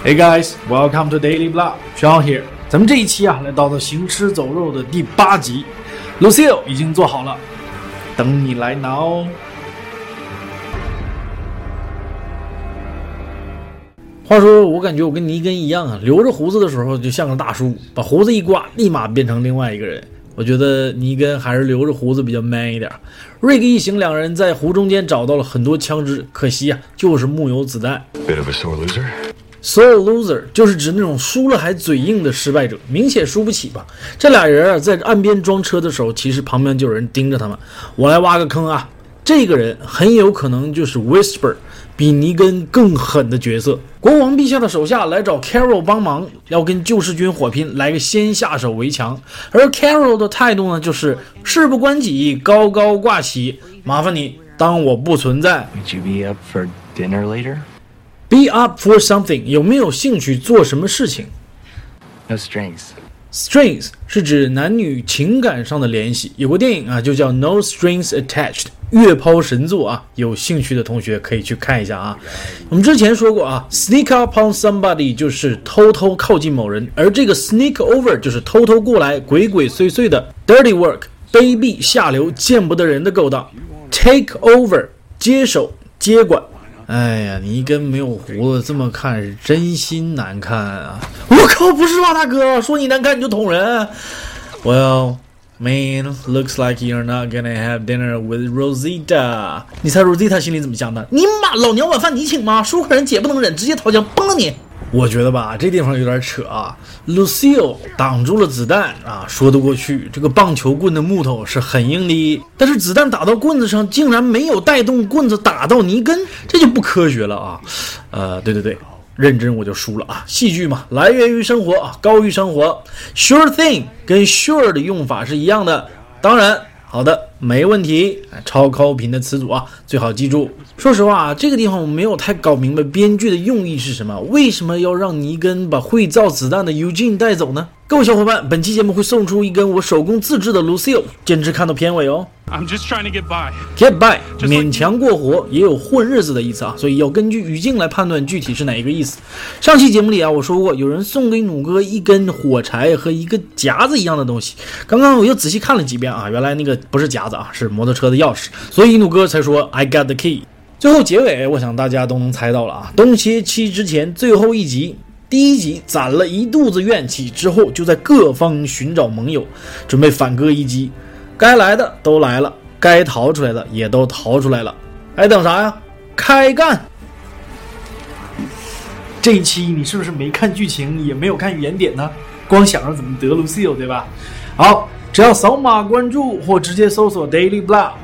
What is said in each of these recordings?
Hey guys, welcome to Daily Blah. Sean here. 咱们这一期来到了行尸走肉的第8集 ，Lucille 已经做好了，等你来拿哦。话说，我感觉我跟尼根一样啊，留着胡子的时候就像个大叔，把胡子一刮，立马变成另外一个人。我觉得尼根还是留着胡子比较 man 一点。瑞克一行两人在湖中间找到了很多枪支，可惜啊，就是木有子弹。 Bit of a sore loser. Sore loser 就是指那种输了还嘴硬的失败者，明显输不起吧。这俩人在岸边装车的时候，其实旁边就有人盯着他们。我来挖个坑啊，这个人很有可能就是 Whisper， 比尼根更狠的角色。国王陛下的手下来找 Carol 帮忙，要跟救世军火拼，来个先下手为强。而 Carol 的态度呢，就是事不关己，高高挂起，麻烦你当我不存在。 Would you be up for dinner later?Be up for something 有没有兴趣做什么事情？ No strings. Strings 是指男女情感上的联系，有个电影啊就叫 No Strings Attached， 月抛神作啊，有兴趣的同学可以去看一下啊。我们之前说过啊 ，sneak up on somebody 就是偷偷靠近某人，而这个 sneak over 就是偷偷过来，鬼鬼祟祟的 dirty work， 卑鄙下流见不得人的勾当。Take over 接手接管。哎呀，尼根没有胡子，这么看是真心难看啊！我靠，不是吧，大哥？说你难看你就捅人 ？Well, man, looks like you're not gonna have dinner with Rosita。你猜 Rosita 心里怎么想的？你妈，老娘晚饭你请吗？输客人姐不能忍，直接掏枪崩了你！我觉得吧，这地方有点扯啊。Lucille 挡住了子弹啊，说得过去。这个棒球棍的木头是很硬的，但是子弹打到棍子上，竟然没有带动棍子打到尼根，这就不科学了啊。对，认真我就输了啊。戏剧嘛，来源于生活啊，高于生活。Sure thing 跟 sure 的用法是一样的，当然。好的，没问题。超高频的词组啊，最好记住。说实话啊，这个地方我没有太搞明白编剧的用意是什么，为什么要让尼根把会造子弹的 Eugene 带走呢？各位小伙伴，本期节目会送出一根我手工自制的 Lucille， 坚持看到片尾哦。 I'm just trying to get by. Get by 勉强过活，也有混日子的意思啊，所以要根据语境来判断具体是哪一个意思。上期节目里啊，我说过有人送给弩哥一根火柴和一个夹子一样的东西，刚刚我又仔细看了几遍啊，原来那个不是夹子啊，是摩托车的钥匙，所以弩哥才说 I got the key。最后结尾，我想大家都能猜到了啊，冬歇期之前最后一集。第一集攒了一肚子怨气之后，就在各方寻找盟友，准备反戈一击。该来的都来了，该逃出来的也都逃出来了，还等啥呀？开干！这一期你是不是没看剧情，也没有看原点呢？光想着怎么得 Lucille 对吧？好，只要扫码关注或直接搜索 Daily Blah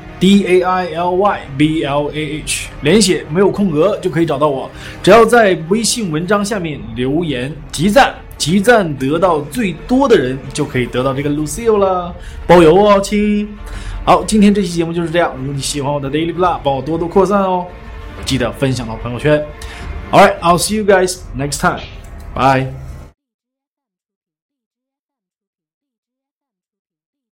DAILYBLAH 连写没有空格就可以找到我，只要在微信文章下面留言集赞，集赞得到最多的人就可以得到这个 Lucille 了，包邮哦亲。好，今天这期节目就是这样，如果你喜欢我的 Daily Blah 帮我多多扩散哦，记得分享到朋友圈。 Alright, I'll see you guys next time. Bye.